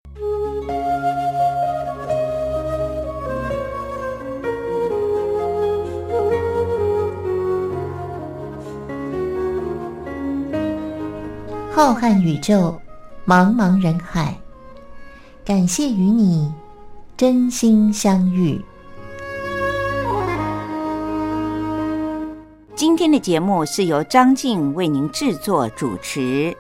浩瀚宇宙，茫茫人海，感谢与你真心相遇。 今天的节目是由张静为您制作主持。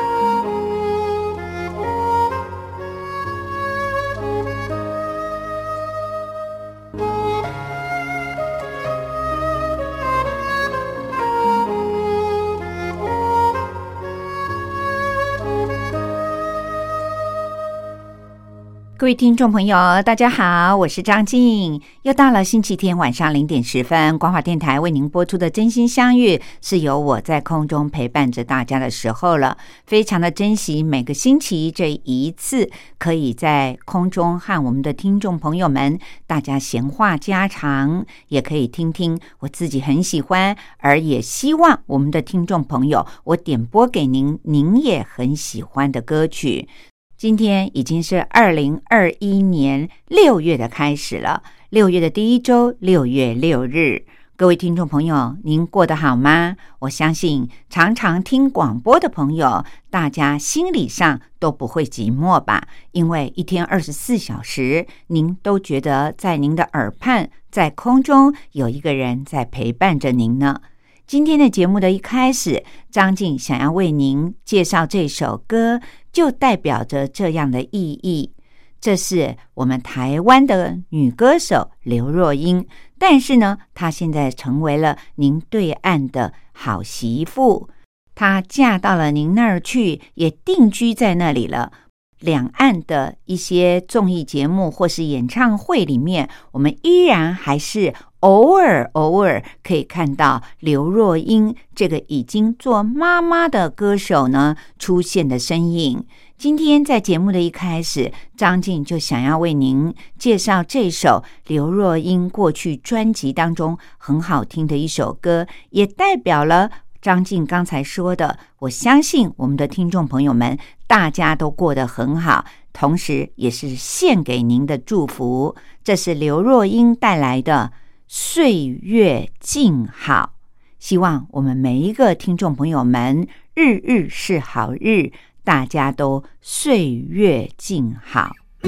各位听众朋友大家好，我是张静，又到了星期天晚上0点10分，光华电台为您播出的真心相遇，是由我在空中陪伴着大家的时候了。非常的珍惜每个星期这一次可以在空中和我们的听众朋友们大家闲话家常，也可以听听我自己很喜欢而也希望我们的听众朋友我点播给您也很喜欢的歌曲。今天已经是2021年6月的开始了，6月的第一周，6月6日。各位听众朋友，您过得好吗？我相信常常听广播的朋友，大家心理上都不会寂寞吧？因为一天24小时，您都觉得在您的耳畔，在空中有一个人在陪伴着您呢。今天的节目的一开始，张静想要为您介绍这首歌，就代表着这样的意义。这是我们台湾的女歌手刘若英，但是呢，她现在成为了您对岸的好媳妇，她嫁到了您那儿去，也定居在那里了。两岸的一些综艺节目或是演唱会里面，我们依然还是偶尔可以看到刘若英这个已经做妈妈的歌手呢出现的身影。今天在节目的一开始，张静就想要为您介绍这首刘若英过去专辑当中很好听的一首歌，也代表了张静刚才说的，我相信我们的听众朋友们大家都过得很好，同时也是献给您的祝福。这是刘若英带来的岁月静好，希望我们每一个听众朋友们日日是好日，大家都岁月静好。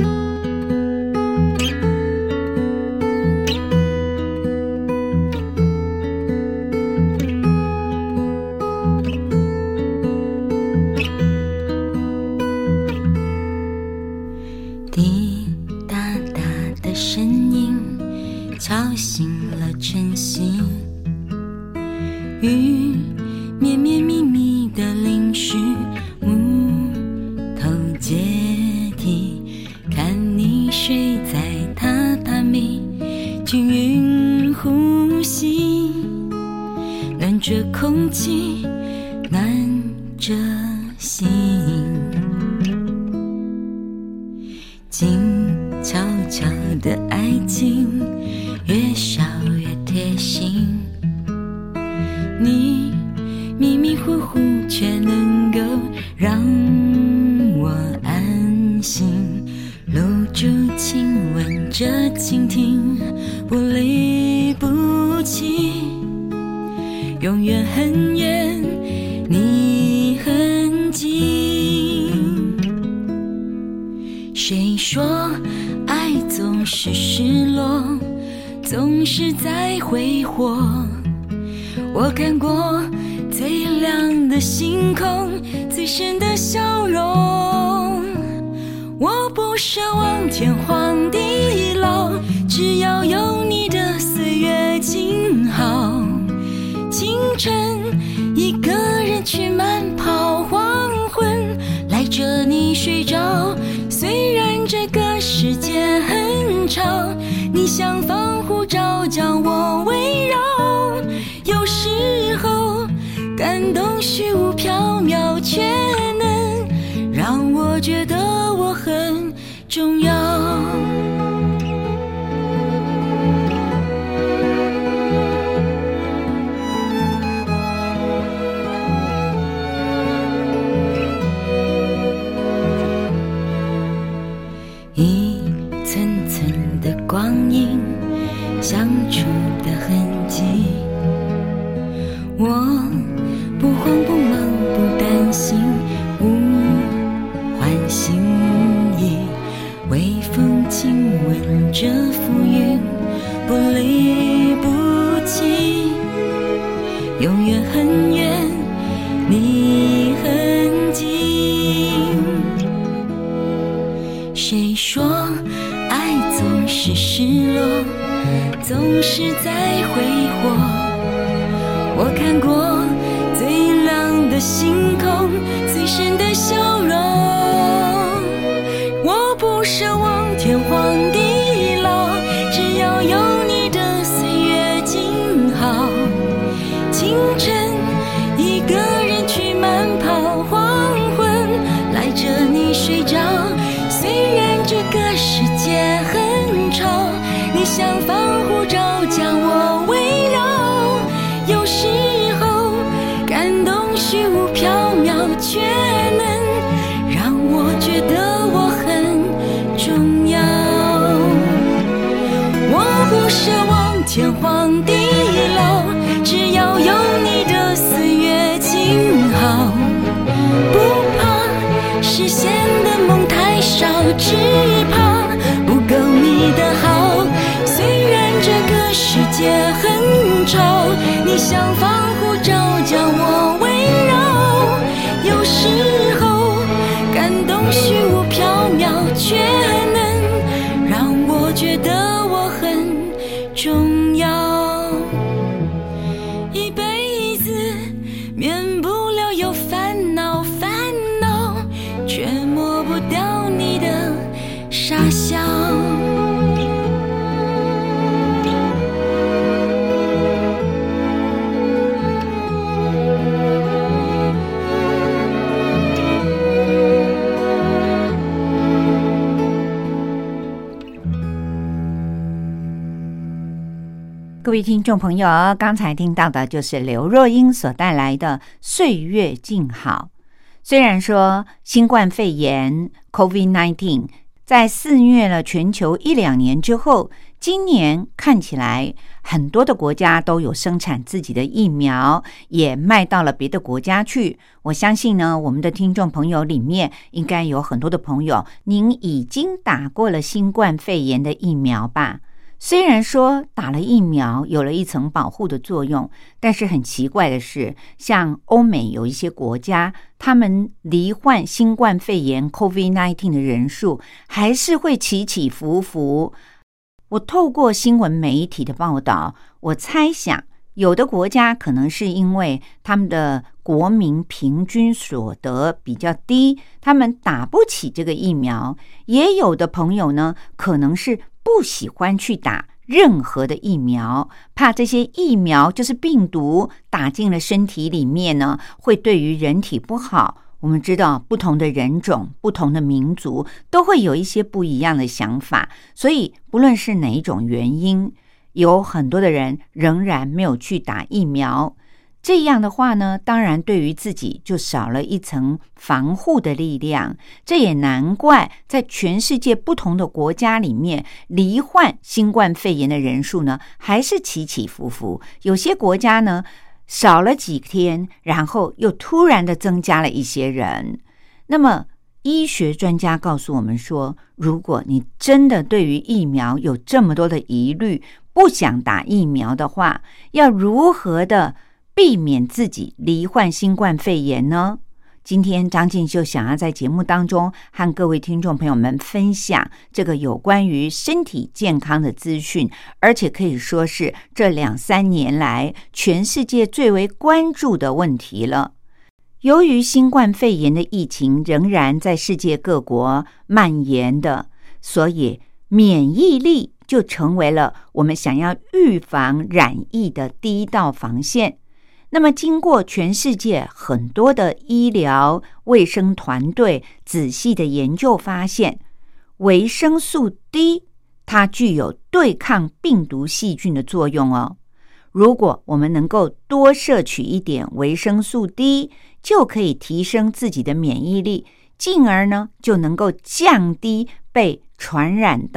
滴答答的声音敲醒了晨曦，雨绵绵密密的淋湿木头阶梯，看你睡在榻榻米，均匀呼吸，暖着空气，暖着心，静悄悄的爱情越少越贴心，你迷迷糊糊却能够让我安心，搂住亲吻着倾听，不离不弃，永远很远，你很近。谁说爱总是失落，总是在挥霍，我看过最亮的星空，最深的笑容，我不奢望天荒地老，只要有你的岁月静好。清晨一个人去慢跑，黄昏赖着你睡着，虽然这个世界很吵，你像防护罩将我围绕，有时候感动虚无缥缈，却能让我觉得我很重要。 光阴相处的痕迹。我不慌不忙不担心，无唤醒意，微风轻吻着浮云，不离不弃，永远很远，你很近。谁说爱总是失落，总是在挥霍？我看过最亮的星空，最深的笑容。我不奢望天荒地老，只要有你的岁月静好。清晨一个人去慢跑，黄昏赖着你睡着。虽然这个世界很吵，你像防护罩将我围绕。有时候感动虚无缥缈，却能让我觉得我很重要。我不奢望天荒地老，只要有你的岁月静好。不怕实现的梦太少，只怕不够你的好。虽然这个世界很吵，你像防护罩将我围绕。有时候感动虚无缥缈，却能让我觉得我很重要。一辈子免不了有烦恼，烦恼却抹不掉你的傻笑。 各位听众朋友，刚才听到的就是刘若英所带来的《岁月静好》。虽然说新冠肺炎 COVID-19 在肆虐了全球1-2年之后，今年看起来很多的国家都有生产自己的疫苗，也卖到了别的国家去。我相信呢，我们的听众朋友里面应该有很多的朋友，您已经打过了新冠肺炎的疫苗吧？虽然说打了疫苗有了一层保护的作用，但是很奇怪的是，像欧美有一些国家，他们罹患新冠肺炎 COVID-19 的人数还是会起起伏伏。我透过新闻媒体的报道，我猜想有的国家可能是因为他们的国民平均所得比较低，他们打不起这个疫苗。也有的朋友呢，可能是不喜欢去打任何的疫苗，怕这些疫苗就是病毒打进了身体里面呢，会对于人体不好。我们知道不同的人种、不同的民族都会有一些不一样的想法，所以不论是哪一种原因，有很多的人仍然没有去打疫苗。这样的话呢，当然对于自己就少了一层防护的力量。这也难怪在全世界不同的国家里面，罹患新冠肺炎的人数呢还是起起伏伏。有些国家呢少了几天，然后又突然的增加了一些人。那么医学专家告诉我们说，如果你真的对于疫苗有这么多的疑虑，不想打疫苗的话，要如何的避免自己罹患新冠肺炎呢？今天张静就想要在节目当中和各位听众朋友们分享这个有关于身体健康的资讯，而且可以说是这2-3年来全世界最为关注的问题了。由于新冠肺炎的疫情仍然在世界各国蔓延的，所以免疫力就成为了我们想要预防染疫的第一道防线。那么经过全世界很多的医疗卫生团队仔细的研究发现，维生素 D 它具有对抗病毒细菌的作用哦。如果我们能够多摄取一点维生素 D， 就可以提升自己的免疫力，进而呢就能够降低被传染到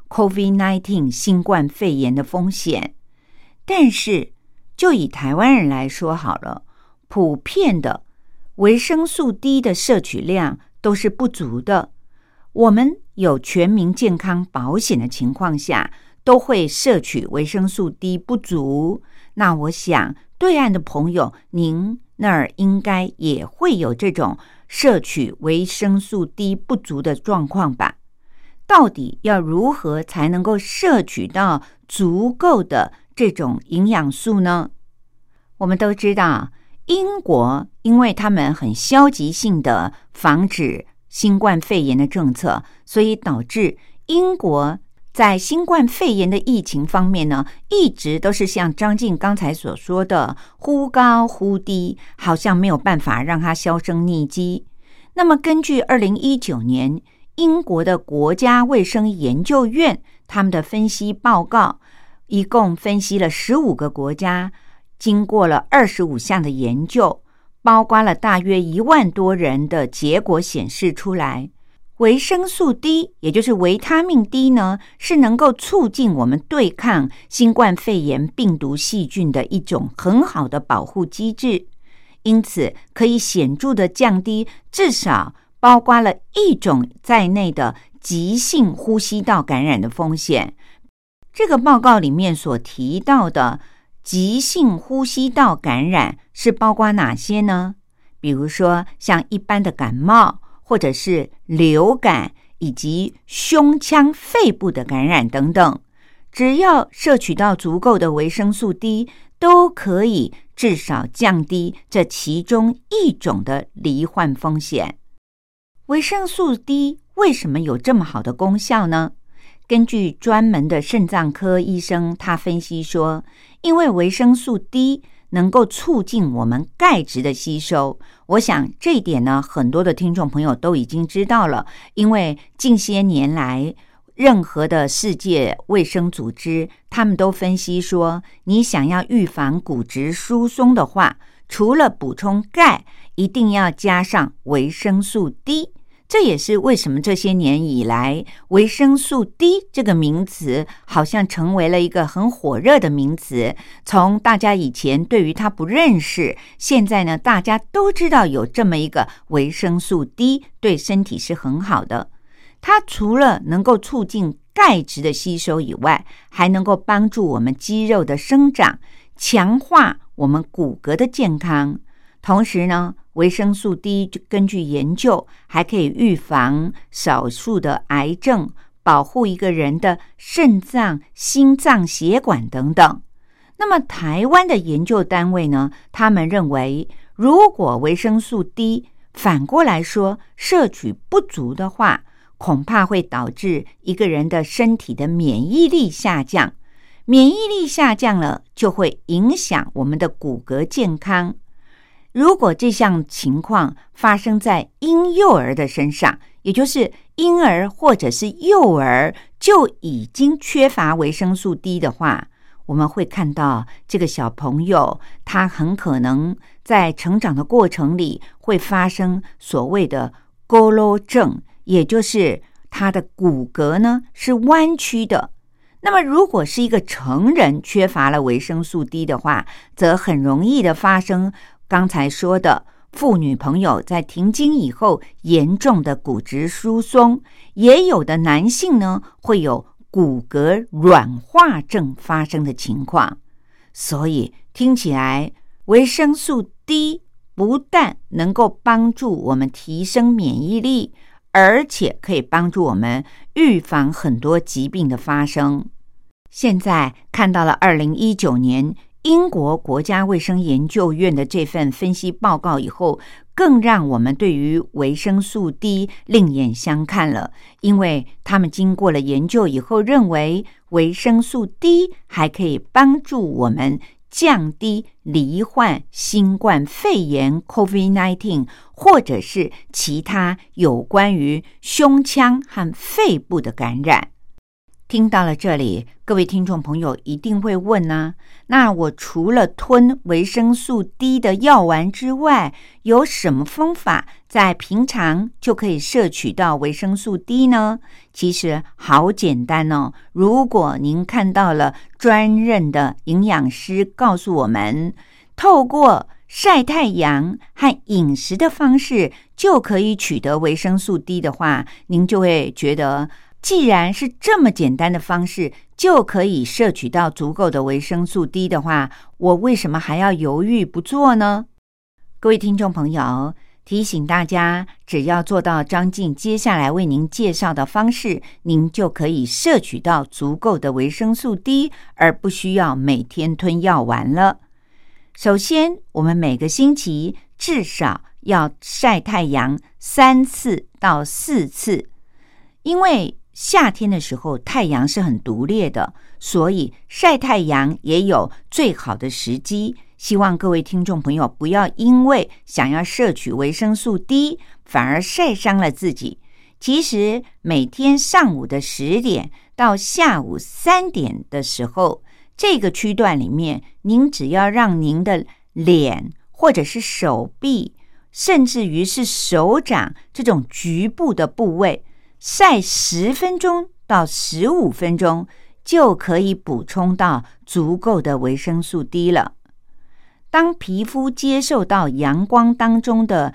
COVID-19 新冠肺炎的风险。但是就以台湾人来说好了，普遍的维生素 D 的摄取量都是不足的。我们有全民健康保险的情况下，都会摄取维生素 D 不足。那我想对岸的朋友，您那儿应该也会有这种摄取维生素 D 不足的状况吧？到底要如何才能够摄取到足够的这种营养素呢？我们都知道，英国因为他们很消极性的防止新冠肺炎的政策，所以导致英国在新冠肺炎的疫情方面呢，一直都是像张静刚才所说的忽高忽低，好像没有办法让它销声匿迹。那么根据2019年英国的国家卫生研究院他们的分析报告，一共分析了15个国家，经过了25项的研究，包括了大约1万多人的结果显示出来，维生素 D 也就是维他命 D 呢，是能够促进我们对抗新冠肺炎病毒细菌的一种很好的保护机制，因此可以显著的降低至少包括了1种在内的急性呼吸道感染的风险。这个报告里面所提到的急性呼吸道感染是包括哪些呢？比如说像一般的感冒，或者是流感，以及胸腔肺部的感染等等，只要摄取到足够的维生素 D， 都可以至少降低这其中1种的罹患风险。维生素 D 为什么有这么好的功效呢？根据专门的肾脏科医生，他分析说，因为维生素 D 能够促进我们钙质的吸收。我想这一点呢，很多的听众朋友都已经知道了，因为近些年来任何的世界卫生组织他们都分析说，你想要预防骨质疏松的话，除了补充钙，一定要加上维生素 D。这也是为什么这些年以来维生素 D 这个名词好像成为了一个很火热的名词，从大家以前对于它不认识，现在呢大家都知道有这么一个维生素 D 对身体是很好的。它除了能够促进钙质的吸收以外，还能够帮助我们肌肉的生长，强化我们骨骼的健康。同时呢，维生素 D 根据研究还可以预防少数的癌症，保护一个人的肾脏、心脏血管等等。那么台湾的研究单位呢，他们认为如果维生素 D 反过来说摄取不足的话，恐怕会导致一个人的身体的免疫力下降，免疫力下降了就会影响我们的骨骼健康。如果这项情况发生在婴幼儿的身上，也就是婴儿或者是幼儿就已经缺乏维生素 D 的话，我们会看到这个小朋友他很可能在成长的过程里会发生所谓的佝偻症，也就是他的骨骼呢是弯曲的。那么如果是一个成人缺乏了维生素 D 的话，则很容易的发生刚才说的妇女朋友在停经以后严重的骨质疏松，也有的男性呢会有骨骼软化症发生的情况。所以听起来维生素 D 不但能够帮助我们提升免疫力，而且可以帮助我们预防很多疾病的发生。现在看到了2019年英国国家卫生研究院的这份分析报告以后，更让我们对于维生素 D 另眼相看了，因为他们经过了研究以后认为维生素 D 还可以帮助我们降低罹患新冠肺炎 COVID-19 或者是其他有关于胸腔和肺部的感染。 听到了这里，各位听众朋友一定会问啊，那我除了吞维生素 D 的药丸之外，有什么方法在平常就可以摄取到维生素 D 呢？其实好简单哦，如果您看到了专任的营养师告诉我们，透过晒太阳和饮食的方式就可以取得维生素 D 的话，您就会觉得既然是这么简单的方式就可以摄取到足够的维生素 D 的话，我为什么还要犹豫不做呢？各位听众朋友，提醒大家，只要做到张静接下来为您介绍的方式，您就可以摄取到足够的维生素 D， 而不需要每天吞药丸了。首先，我们每个星期至少要晒太阳3次到4次，因为夏天的时候太阳是很毒烈的，所以晒太阳也有最好的时机。希望各位听众朋友不要因为想要摄取维生素 D 反而晒伤了自己。其实每天上午的10点到下午3点的时候，这个区段里面，您只要让您的脸或者是手臂，甚至于是手掌这种局部的部位晒10分钟到15分钟，就可以补充到足够的维生素 D 了。当皮肤接受到阳光当中的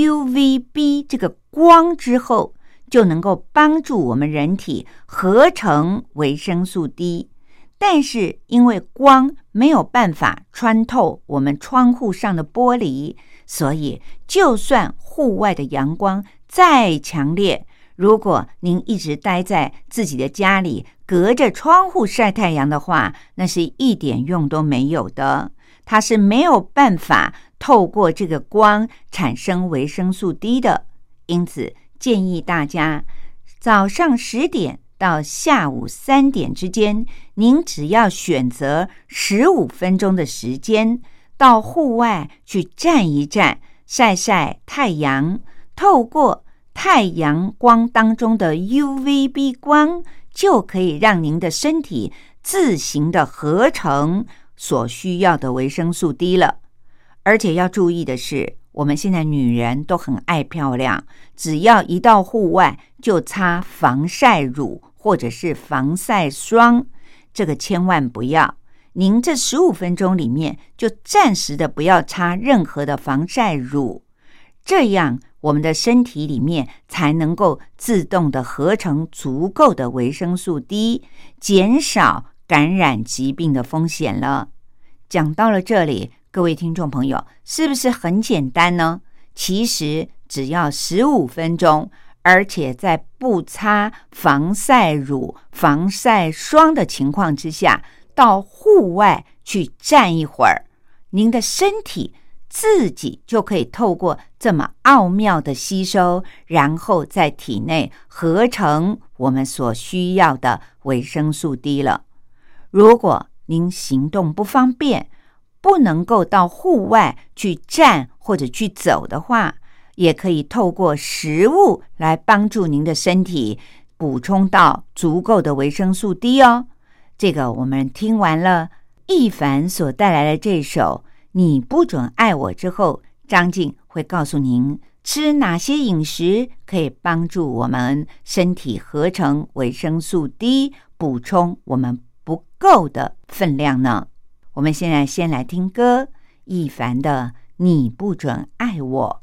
UVB 这个光之后，就能够帮助我们人体合成维生素 D。但是因为光没有办法穿透我们窗户上的玻璃，所以就算户外的阳光再强烈，如果您一直待在自己的家里，隔着窗户晒太阳的话，那是一点用都没有的。它是没有办法透过这个光产生维生素 D 的。因此建议大家早上10点到下午3点之间，您只要选择15分钟的时间到户外去站一站，晒晒太阳，透过太阳光当中的 UVB 光，就可以让您的身体自行的合成所需要的维生素 D 了。而且要注意的是，我们现在女人都很爱漂亮，只要一到户外就擦防晒乳或者是防晒霜，这个千万不要。您这15分钟里面就暂时的不要擦任何的防晒乳，这样我们的身体里面才能够自动的合成足够的维生素 D， 减少感染疾病的风险了。讲到了这里，各位听众朋友，是不是很简单呢？其实只要15分钟，而且在不擦防晒乳、防晒霜的情况之下，到户外去站一会儿，您的身体自己就可以透过这么奥妙的吸收，然后在体内合成我们所需要的维生素 D 了。如果您行动不方便，不能够到户外去站或者去走的话，也可以透过食物来帮助您的身体补充到足够的维生素 D 哦。这个我们听完了易凡所带来的这首《你不准爱我》之后，张静会告诉您吃哪些饮食可以帮助我们身体合成维生素 D， 补充我们不够的分量呢。我们现在先来听歌，易凡的《你不准爱我》。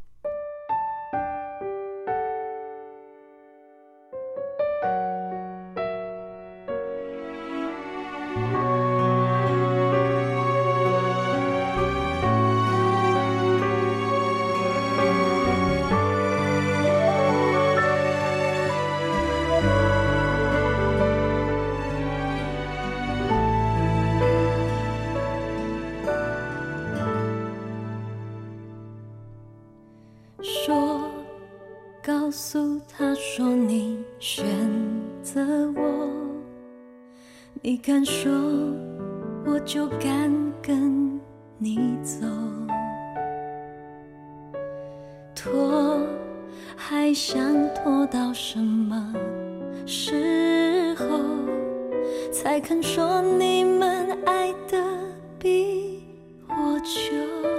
告诉他说你选择我，你敢说我就敢跟你走，拖还想拖到什么时候？ 才肯说你们爱得比我久。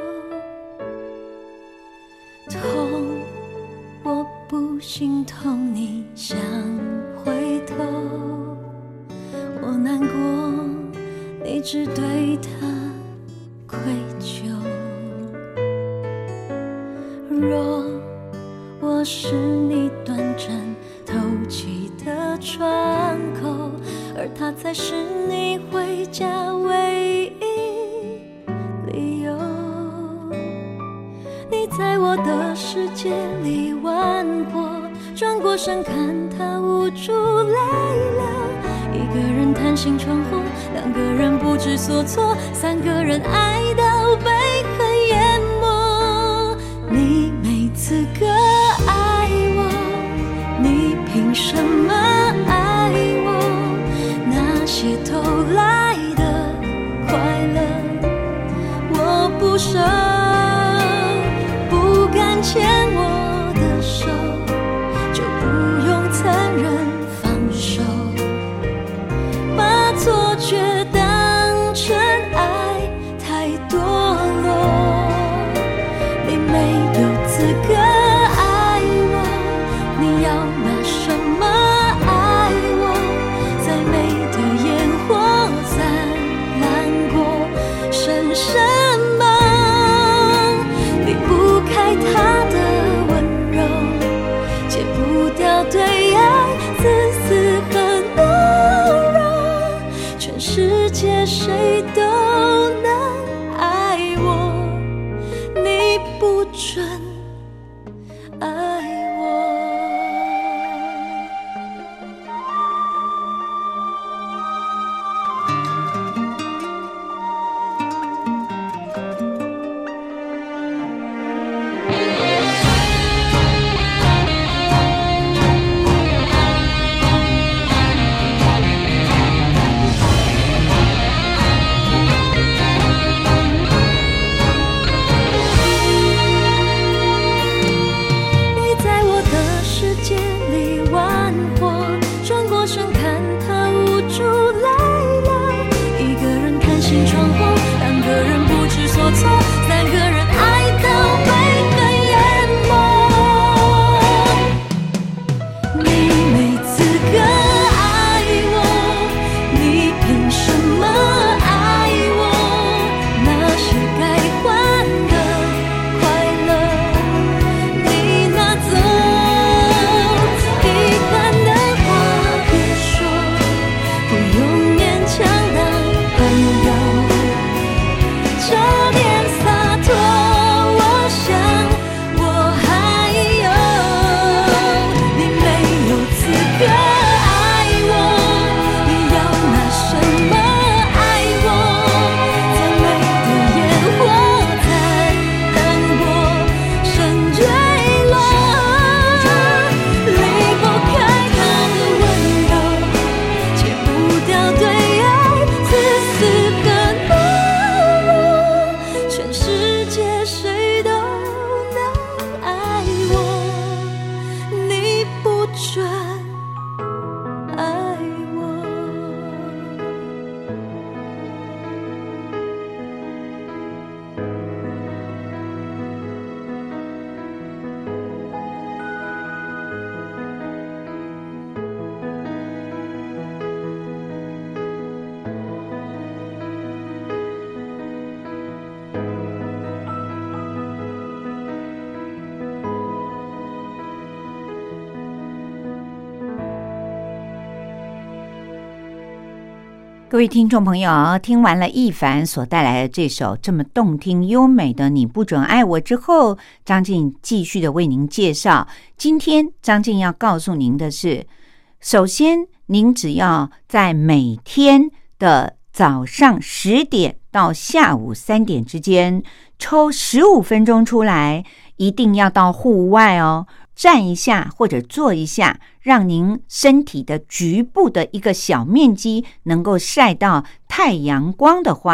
痛，我不心痛，你想回头，我难过，你只对他愧疚。若我是你短暂透气的窗口，而他才是你回家唯一理由。你在我的世界里玩火，转过身看他无助泪流。一个人叹息窗后，两个人不知所措，三个人爱到被恨淹没。你没资格爱我，你凭什么爱我？那些偷来的快乐我不舍，不敢牵我的手，就不用残忍放手，把错觉当成爱太堕落。你没有资格爱我，你要拿什么爱我？再美的烟火灿烂过剩什么？离不开他的温柔，戒不掉对爱自私和懦弱。全世界谁都能爱我，你不准爱我。 各位听众朋友，听完了易凡所带来的这首这么动听优美的《你不准爱我》之后，张静继续的为您介绍。今天张静要告诉您的是，首先您只要在每天的早上10点到下午3点之间抽15分钟出来，一定要到户外哦，站一下或者坐一下，让您身体的局部的一个小面积能够晒到太阳光的话，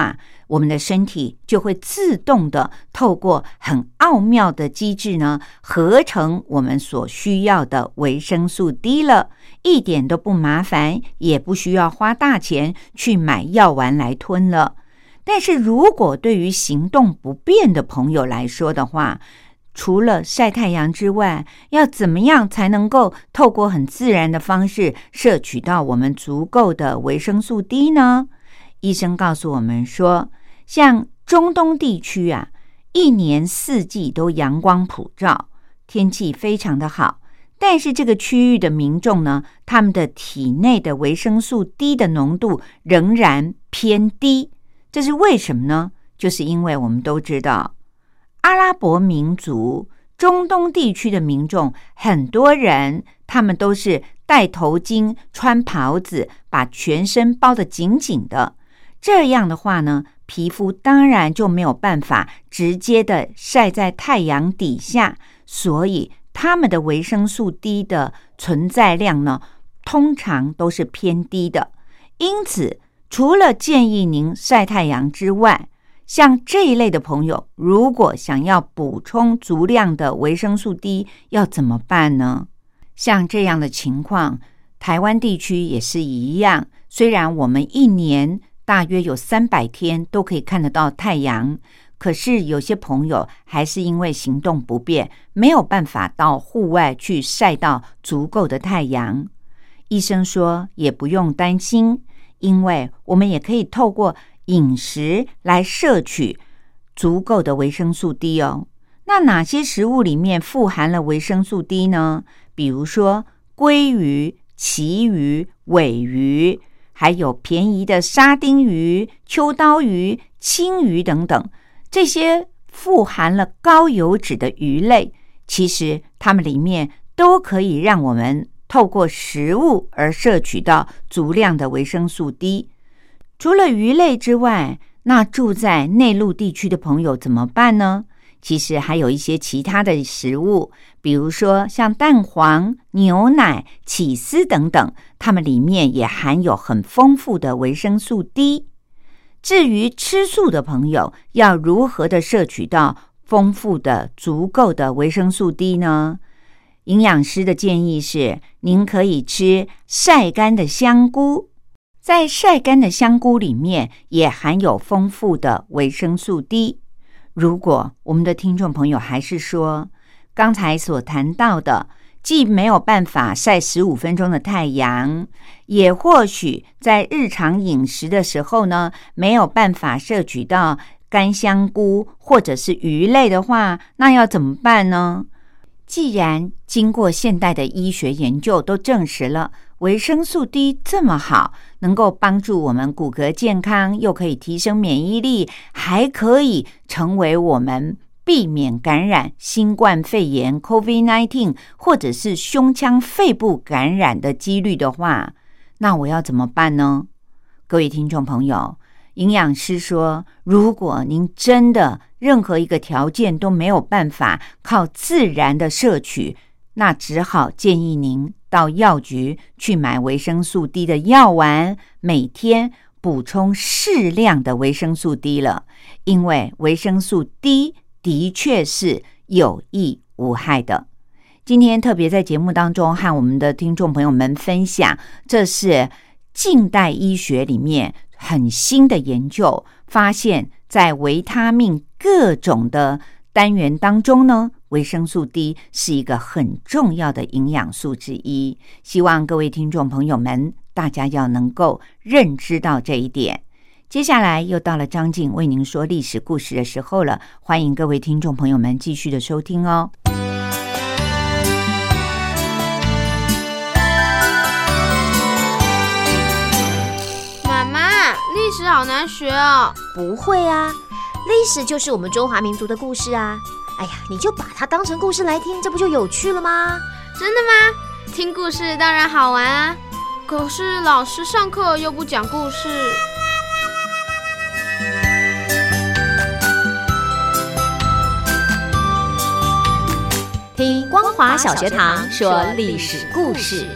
我们的身体就会自动的透过很奥妙的机制呢，合成我们所需要的维生素 D 了，一点都不麻烦，也不需要花大钱去买药丸来吞了。但是如果对于行动不便的朋友来说的话，除了晒太阳之外，要怎么样才能够透过很自然的方式摄取到我们足够的维生素 D 呢？医生告诉我们说，像中东地区啊，一年四季都阳光普照，天气非常的好，但是这个区域的民众呢，他们的体内的维生素 D 的浓度仍然偏低。这是为什么呢？就是因为我们都知道，阿拉伯民族中东地区的民众，很多人他们都是戴头巾、穿袍子，把全身包得紧紧的。这样的话呢，皮肤当然就没有办法直接的晒在太阳底下，所以他们的维生素 D 的存在量呢，通常都是偏低的。因此，除了建议您晒太阳之外，像这一类的朋友，如果想要补充足量的维生素 D， 要怎么办呢？像这样的情况，台湾地区也是一样。虽然我们一年大约有300天都可以看得到太阳，可是有些朋友还是因为行动不便，没有办法到户外去晒到足够的太阳。医生说也不用担心，因为我们也可以透过饮食来摄取足够的维生素 D 哦。那哪些食物里面富含了维生素 D 呢？比如说鲑鱼、旗鱼、尾鱼，还有便宜的沙丁鱼、秋刀鱼、青鱼等等，这些富含了高油脂的鱼类，其实它们里面都可以让我们透过食物而摄取到足量的维生素 D。 除了鱼类之外，那住在内陆地区的朋友怎么办呢？其实还有一些其他的食物，比如说像蛋黄、牛奶、起司等等，它们里面也含有很丰富的维生素 D。 至于吃素的朋友要如何的摄取到丰富的足够的维生素 D 呢？营养师的建议是，您可以吃晒干的香菇，在晒干的香菇里面也含有丰富的维生素 D。 如果我们的听众朋友还是说，刚才所谈到的既没有办法晒15分钟的太阳，也或许在日常饮食的时候呢，没有办法摄取到干香菇或者是鱼类的话，那要怎么办呢？既然经过现代的医学研究都证实了维生素 D 这么好，能够帮助我们骨骼健康，又可以提升免疫力，还可以成为我们避免感染新冠肺炎 COVID-19 或者是胸腔肺部感染的几率的话，那我要怎么办呢？各位听众朋友，营养师说，如果您真的任何一个条件都没有办法靠自然的摄取，那只好建议您到药局去买维生素 D 的药丸，每天补充适量的维生素 D 了。因为维生素 D 的确是有益无害的。今天特别在节目当中和我们的听众朋友们分享，这是近代医学里面很新的研究，发现在维他命各种的单元当中呢，维生素 D 是一个很重要的营养素之一。希望各位听众朋友们大家要能够认知到这一点。接下来又到了张静为您说历史故事的时候了，欢迎各位听众朋友们继续的收听哦。 妈妈，历史好难学哦。 不会啊，历史就是我们中华民族的故事啊。哎呀，你就把它当成故事来听，这不就有趣了吗？ 真的吗？听故事当然好玩啊，可是老师上课又不讲故事。 听光华小学堂说历史故事。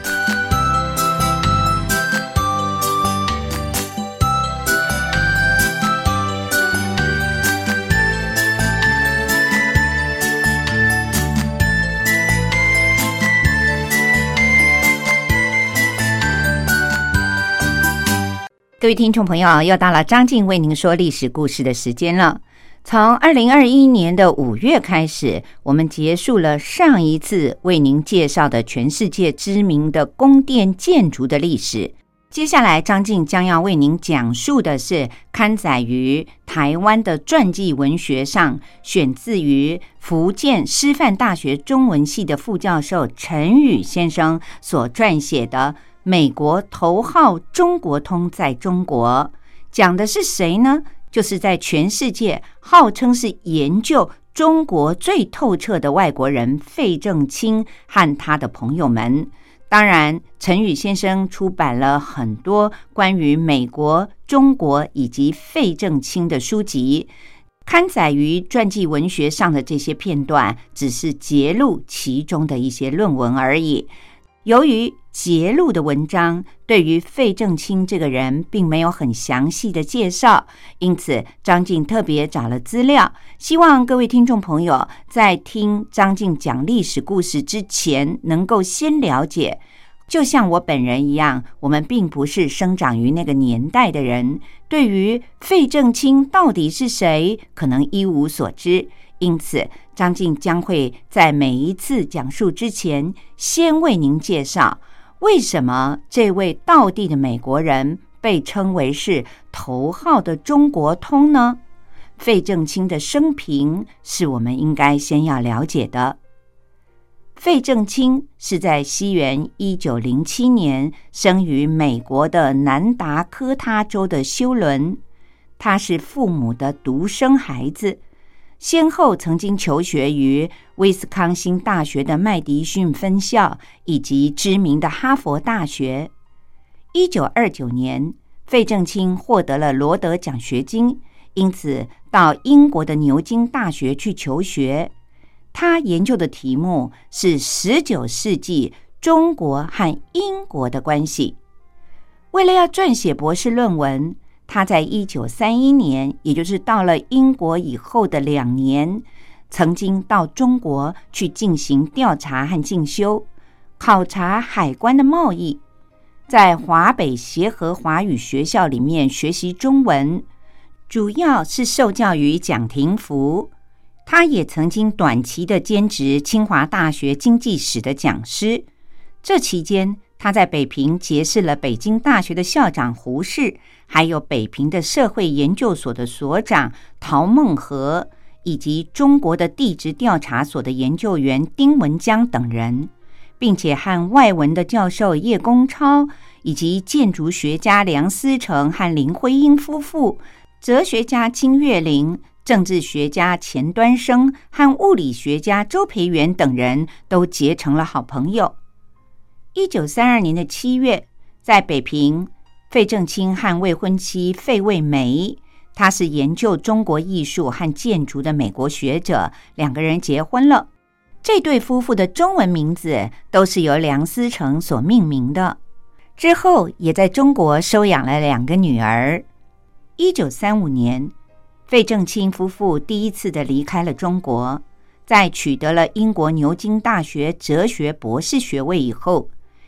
各位听众朋友，又到了张静为您说历史故事的时间了。从2021年的5月开始，我们结束了上一次为您介绍的全世界知名的宫殿建筑的历史。接下来张静将要为您讲述的是刊载于台湾的传记文学上，选自于福建师范大学中文系的副教授陈宇先生所撰写的《美国头号中国通在中国》。讲的是谁呢？就是在全世界号称是研究中国最透彻的外国人费正清和他的朋友们。当然，陈宇先生出版了很多关于美国、中国以及费正清的书籍，刊载于传记文学上的这些片段只是节录其中的一些论文而已。由于节录的文章对于费正清这个人并没有很详细的介绍，因此张静特别找了资料，希望各位听众朋友在听张静讲历史故事之前能够先了解。就像我本人一样，我们并不是生长于那个年代的人，对于费正清到底是谁可能一无所知，因此张静将会在每一次讲述之前先为您介绍为什么这位道地的美国人被称为是头号的中国通呢？费正清的生平是我们应该先要了解的。费正清是在西元1907年生于美国的南达科他州的休伦，他是父母的独生孩子，先后曾经求学于威斯康星大学的麦迪逊分校以及知名的哈佛大学。1929年，费正清获得了罗德奖学金，因此到英国的牛津大学去求学。他研究的题目是19世纪中国和英国的关系。为了要撰写博士论文，他在1931年，也就是到了英国以后的2年，曾经到中国去进行调查和进修，考察海关的贸易，在华北协和华语学校里面学习中文，主要是受教于蒋廷福。他也曾经短期的兼职清华大学经济史的讲师。这期间，他在北平结识了北京大学的校长胡适，还有北平的社会研究所的所长陶孟和，以及中国的地质调查所的研究员丁文江等人，并且和外文的教授叶公超，以及建筑学家梁思成和林徽因夫妇，哲学家金岳霖，政治学家钱端升和物理学家周培源等人都结成了好朋友。1932年的7月，在北平，费正清和未婚妻费慰梅，他是研究中国艺术和建筑的美国学者，两个人结婚了。这对夫妇的中文名字都是由梁思成所命名的。之后也在中国收养了2个女儿。1935年，费正清夫妇第一次的离开了中国，在取得了英国牛津大学哲学博士学位以后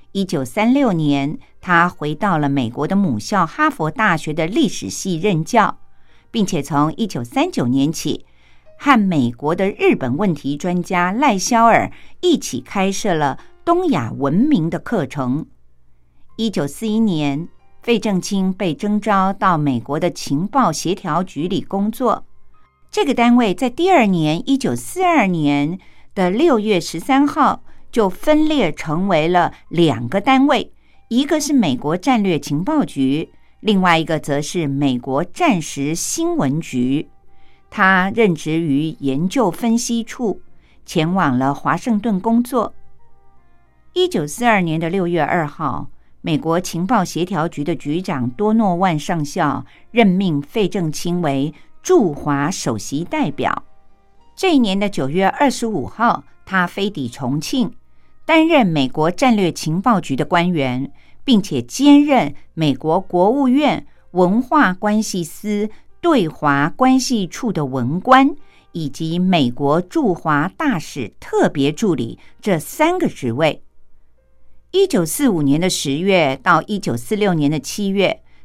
，1936年他回到了美国的母校哈佛大学的历史系任教，并且从1939年起和美国的日本问题专家赖肖尔一起开设了东亚文明的课程。1941年，费正清被征召到美国的情报协调局里工作。这个单位在第2年1942年的6月13号就分裂成为了2个单位，一个是美国战略情报局，另外一个则是美国战时新闻局。他任职于研究分析处，前往了华盛顿工作。1942年的6月2号，美国情报协调局的局长多诺万上校任命费正清为驻华首席代表。这一年的9月25号，他飞抵重庆，担任美国战略情报局的官员，并且兼任美国国务院文化关系司对华关系处的文官，以及美国驻华大使特别助理这3个职位。1945年的10月到1946年的7月，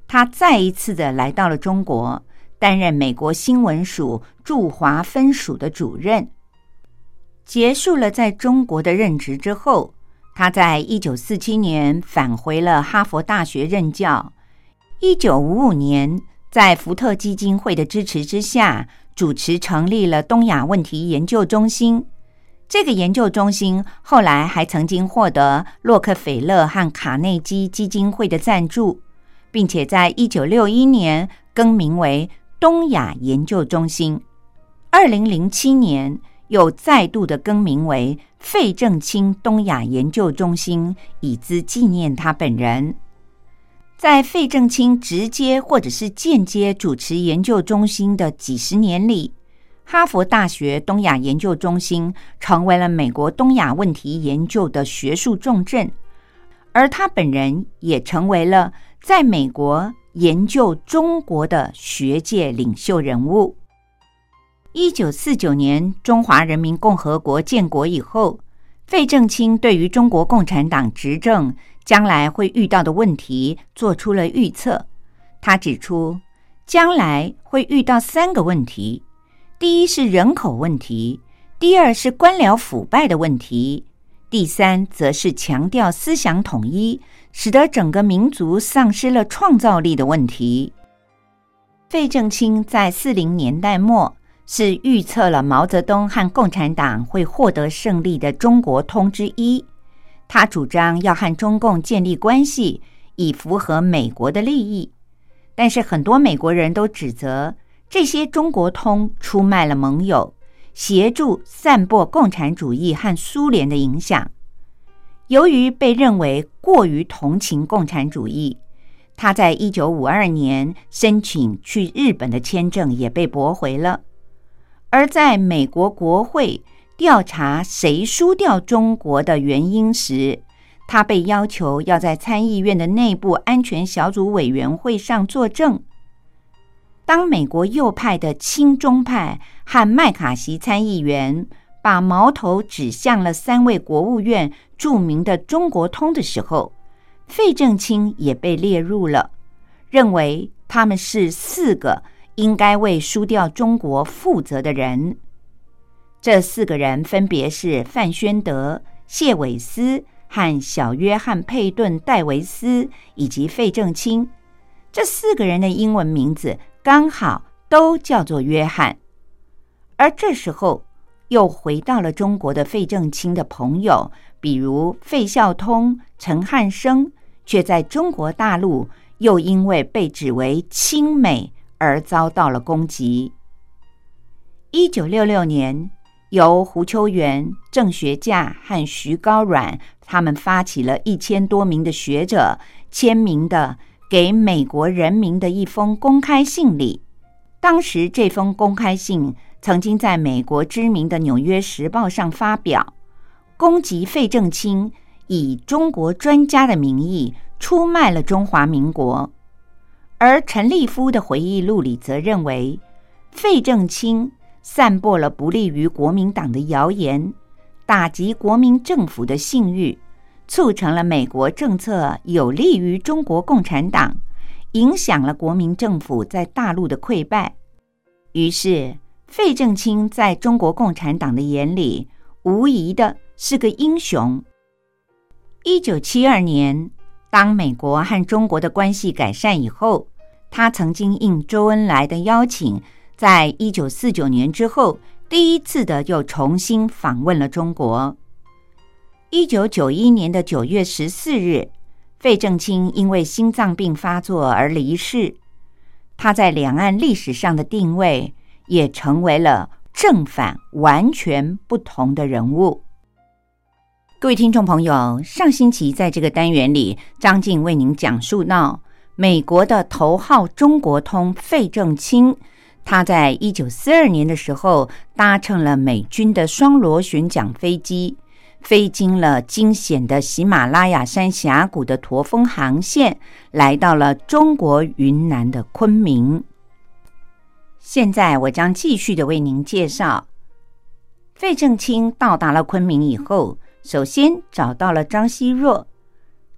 他再一次的来到了中国，担任美国新闻署驻华分署的主任。结束了在中国的任职之后，他在1947年返回了哈佛大学任教。1955年，在福特基金会的支持之下，主持成立了东亚问题研究中心。这个研究中心后来还曾经获得洛克菲勒和卡内基基金会的赞助，并且在1961年更名为东亚研究中心。2007年又再度的更名为费正清东亚研究中心，以资纪念他本人。在费正清直接或者是间接主持研究中心的几十年里，哈佛大学东亚研究中心成为了美国东亚问题研究的学术重镇，而他本人也成为了在美国研究中国的学界领袖人物。1949年中华人民共和国建国以后，费正清对于中国共产党执政将来会遇到的问题做出了预测。他指出，将来会遇到3个问题，第一是人口问题，第二是官僚腐败的问题，第三则是强调思想统一，使得整个民族丧失了创造力的问题。费正清在40年代末是预测了毛泽东和共产党会获得胜利的中国通之一。他主张要和中共建立关系，以符合美国的利益。但是很多美国人都指责这些中国通出卖了盟友，协助散播共产主义和苏联的影响。由于被认为过于同情共产主义，他在1952年申请去日本的签证也被驳回了。而在美国国会调查谁输掉中国的原因时，他被要求要在参议院的内部安全小组委员会上作证。当美国右派的亲中派和麦卡锡参议员把矛头指向了3位国务院著名的中国通的时候，费正清也被列入了，认为他们是4个应该为输掉中国负责的人。这4个人分别是范宣德、谢伟思和小约翰·佩顿·戴维斯以及费正清。这4个人的英文名字刚好都叫做约翰。而这时候又回到了中国的费正清的朋友，比如费孝通、陈汉生，却在中国大陆又因为被指为亲美而遭到了攻击。1966年，由胡秋原、郑学稼和徐高阮他们发起了1000多名的学者签名的给美国人民的一封公开信里。当时这封公开信曾经在美国知名的《纽约时报》上发表，攻击费正清以中国专家的名义出卖了中华民国。而陈立夫的回忆录里则认为，费正清散播了不利于国民党的谣言，打击国民政府的信誉，促成了美国政策有利于中国共产党，影响了国民政府在大陆的溃败。于是费正清在中国共产党的眼里无疑的是个英雄。1972年，当美国和中国的关系改善以后，他曾经应周恩来的邀请，在1949年之后第一次的又重新访问了中国。1991年的9月14日，费正清因为心脏病发作而离世。他在两岸历史上的定位也成为了正反完全不同的人物。各位听众朋友，上星期在这个单元里，张静为您讲述到美国的头号中国通费正清，他在1942年的时候搭乘了美军的双螺旋桨飞机，飞经了惊险的喜马拉雅山峡谷的驼峰航线，来到了中国云南的昆明。现在我将继续的为您介绍，费正清到达了昆明以后，首先找到了张奚若。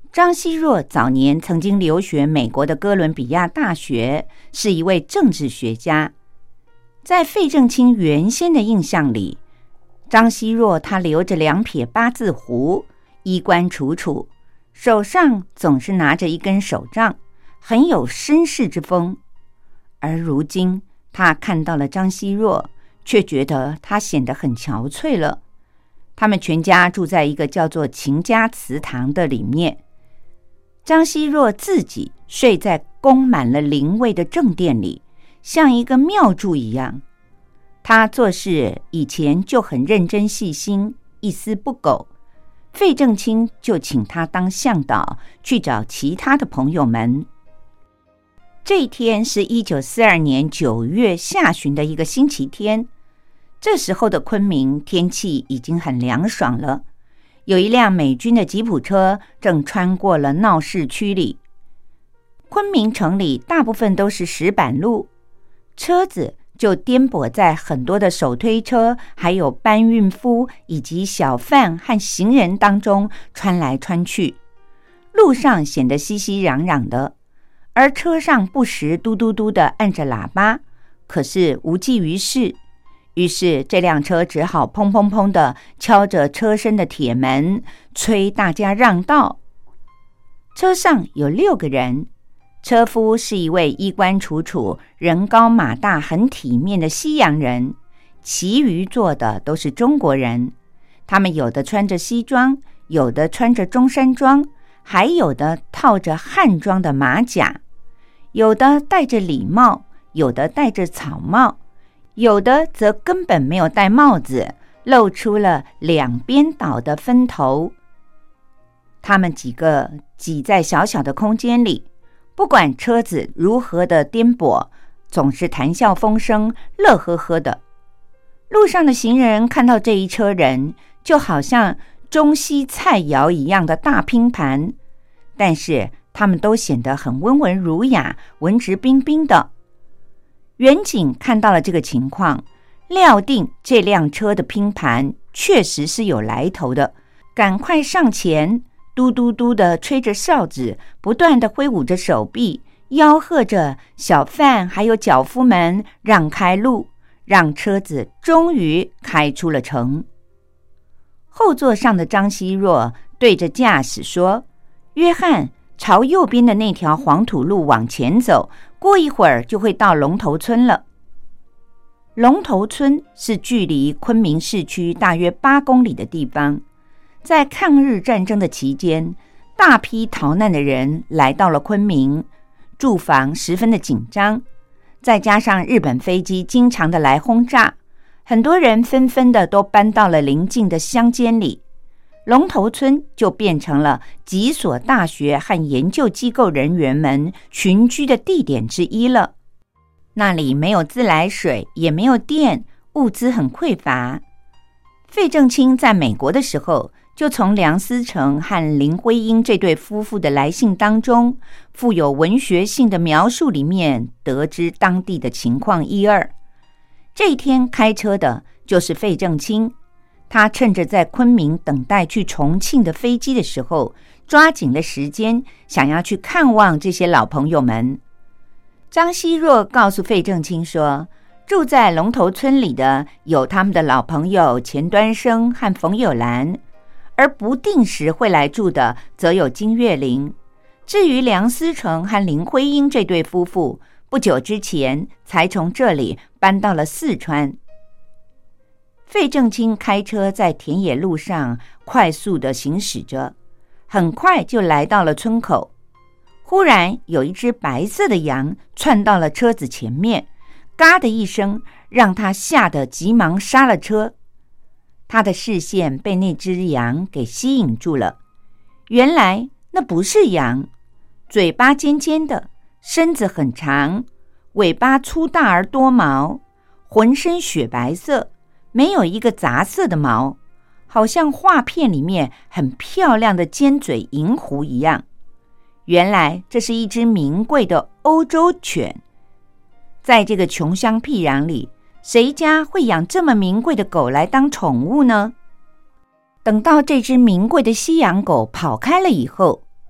张奚若早年曾经留学美国的哥伦比亚大学，是一位政治学家。在费正清原先的印象里，张奚若她留着2撇8字胡，衣冠楚楚，手上总是拿着一根手杖，很有绅士之风。而如今他看到了张奚若，却觉得她显得很憔悴了。他们全家住在一个叫做秦家祠堂的里面，张奚若自己睡在供满了灵位的正殿里，像一个庙祝一样。他做事以前就很认真细心，一丝不苟。费正清就请他当向导，去找其他的朋友们。这一天是1942年9月下旬的一个星期天，这时候的昆明天气已经很凉爽了。有一辆美军的吉普车正穿过了闹市区里。昆明城里大部分都是石板路，车子就颠簸在很多的手推车，还有搬运夫以及小贩和行人当中穿来穿去，路上显得熙熙攘攘的，而车上不时嘟嘟嘟地按着喇叭，可是无济于事。于是这辆车只好砰砰砰地敲着车身的铁门，催大家让道。车上有6个人，车夫是一位衣冠楚楚、人高马大、很体面的西洋人，其余坐的都是中国人。他们有的穿着西装，有的穿着中山装，还有的套着汉装的马甲，有的戴着礼帽，有的戴着草帽，有的则根本没有戴帽子，露出了2边倒的分头。他们几个挤在小小的空间里，不管车子如何的颠簸，总是谈笑风生，乐呵呵的。路上的行人看到这一车人，就好像中西菜肴一样的大拼盘，但是他们都显得很温文儒雅，文质彬彬的。远景看到了这个情况，料定这辆车的拼盘确实是有来头的，赶快上前，嘟嘟嘟地吹着哨子，不断地挥舞着手臂，吆喝着小贩还有脚夫们让开路，让车子终于开出了城。后座上的张奚若对着驾驶说：“约翰，朝右边的那条黄土路往前走，过一会儿就会到龙头村了。”龙头村是距离昆明市区大约8公里的地方。在抗日战争的期间，大批逃难的人来到了昆明，住房十分的紧张，再加上日本飞机经常的来轰炸，很多人纷纷的都搬到了邻近的乡间里。龙头村就变成了几所大学和研究机构人员们群居的地点之一了。那里没有自来水，也没有电，物资很匮乏。费正清在美国的时候，就从梁思成和林徽因这对夫妇的来信当中，富有文学性的描述里面得知当地的情况1、2。这一天开车的就是费正清，他趁着在昆明等待去重庆的飞机的时候，抓紧了时间，想要去看望这些老朋友们。张奚若告诉费正清说，住在龙头村里的有他们的老朋友钱端生和冯友兰，而不定时会来住的则有金岳霖。至于梁思成和林徽因这对夫妇，不久之前才从这里搬到了四川。费正清开车在田野路上快速地行驶着，很快就来到了村口。忽然有一只白色的羊窜到了车子前面，嘎的一声，让他吓得急忙刹了车。他的视线被那只羊给吸引住了。原来那不是羊，嘴巴尖尖的，身子很长，尾巴粗大而多毛，浑身雪白色，没有一个杂色的毛，好像画片里面很漂亮的尖嘴银狐一样。原来这是一只名贵的欧洲犬。在这个穷乡僻壤里，谁家会养这么名贵的狗来当宠物呢？等到这只名贵的西洋狗跑开了以后，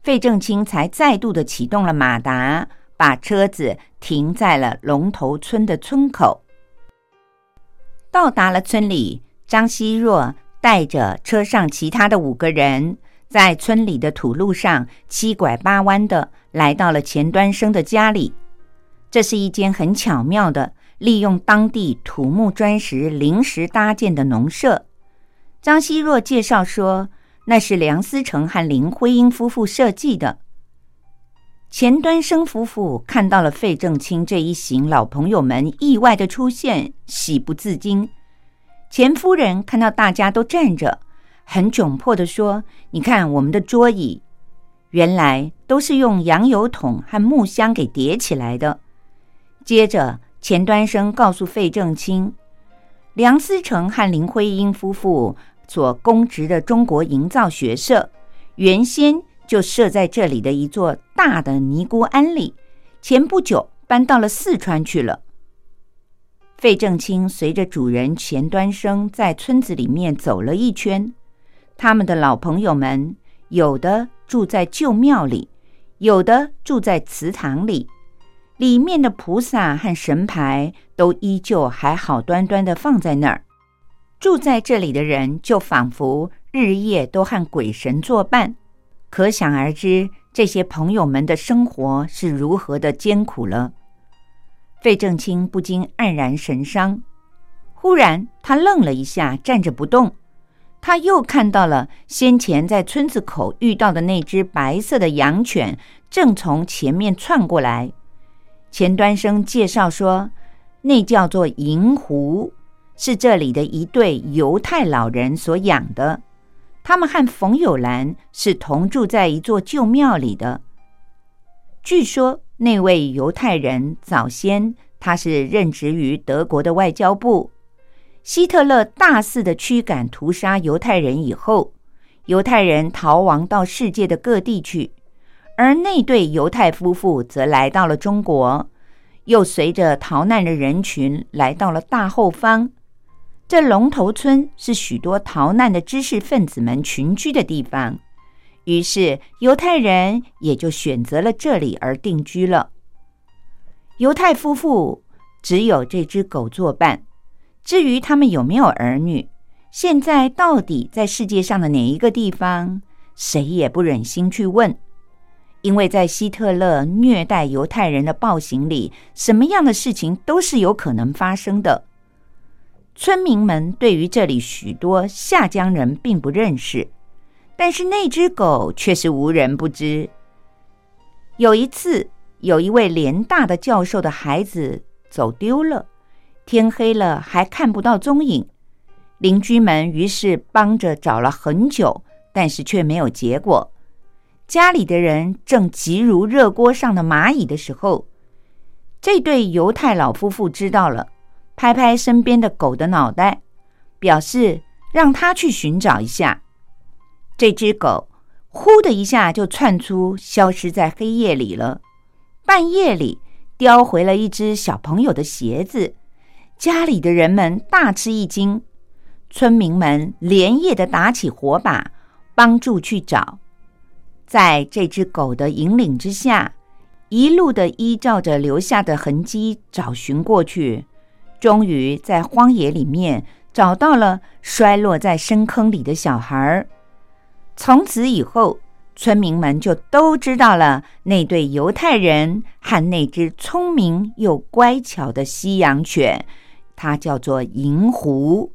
费正清才再度的启动了马达，把车子停在了龙头村的村口。到达了村里，张希若带着车上其他的5个人，在村里的土路上七拐八弯的来到了钱端生的家里。这是一间很巧妙的利用当地土木砖石临时搭建的农舍。张希若介绍说，那是梁思成和林徽因夫妇设计的。钱端生夫妇看到了费正清这一行老朋友们意外的出现，喜不自禁。钱夫人看到大家都站着，很窘迫地说，你看我们的桌椅，原来都是用洋油桶和木箱给叠起来的。接着钱端生告诉费正清，梁思成和林徽因夫妇所供职的中国营造学社，原先就设在这里的一座大的尼姑庵里，前不久搬到了四川去了。费正清随着主人钱端生在村子里面走了一圈，他们的老朋友们有的住在旧庙里，有的住在祠堂里，里面的菩萨和神牌都依旧还好端端的放在那儿。住在这里的人就仿佛日夜都和鬼神作伴，可想而知这些朋友们的生活是如何的艰苦了。费正清不禁黯然神伤，忽然他愣了一下，站着不动。他又看到了先前在村子口遇到的那只白色的羊犬正从前面窜过来。钱端生介绍说，那叫做银狐，是这里的一对犹太老人所养的，他们和冯友兰是同住在一座旧庙里的。据说那位犹太人早先他是任职于德国的外交部，希特勒大肆的驱赶屠杀犹太人以后，犹太人逃亡到世界的各地去，而那对犹太夫妇则来到了中国，又随着逃难的人群来到了大后方。这龙头村是许多逃难的知识分子们群居的地方，于是犹太人也就选择了这里而定居了。犹太夫妇只有这只狗作伴，至于他们有没有儿女，现在到底在世界上的哪一个地方，谁也不忍心去问。因为在希特勒虐待犹太人的暴行里，什么样的事情都是有可能发生的。村民们对于这里许多下江人并不认识，但是那只狗却是无人不知。有一次，有一位联大的教授的孩子走丢了，天黑了还看不到踪影，邻居们于是帮着找了很久，但是却没有结果。家里的人正急如热锅上的蚂蚁的时候，这对犹太老夫妇知道了，拍拍身边的狗的脑袋，表示让他去寻找一下。这只狗呼的一下就窜出，消失在黑夜里了。半夜里叼回了一只小朋友的鞋子，家里的人们大吃一惊，村民们连夜的打起火把，帮助去找。在这只狗的引领之下，一路的依照着留下的痕迹找寻过去，终于在荒野里面找到了摔落在深坑里的小孩。从此以后，村民们就都知道了那对犹太人和那只聪明又乖巧的西洋犬，它叫做银狐。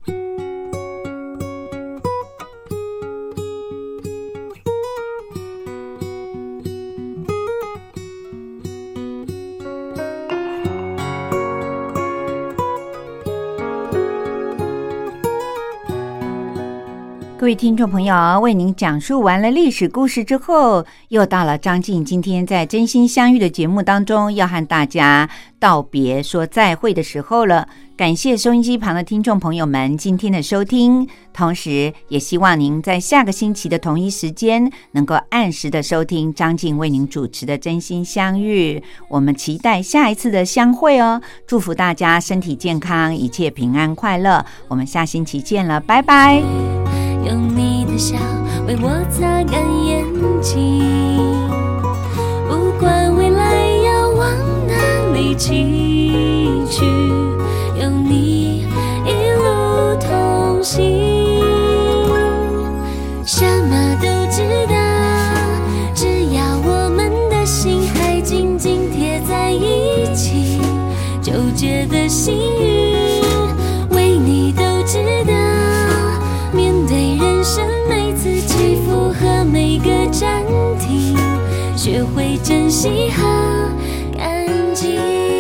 各位听众朋友，为您讲述完了历史故事之后，又到了张静今天在真心相遇的节目当中要和大家道别说再会的时候了。感谢收音机旁的听众朋友们今天的收听，同时也希望您在下个星期的同一时间能够按时的收听张静为您主持的真心相遇。我们期待下一次的相会哦，祝福大家身体健康，一切平安快乐。我们下星期见了，拜拜。 用你的笑为我擦干眼睛。 一起去，有你一路同行，什么都知道，只要我们的心还紧紧贴在一起，纠结的心语为你都知道，面对人生每次起伏和每个暂停，学会珍惜和感激。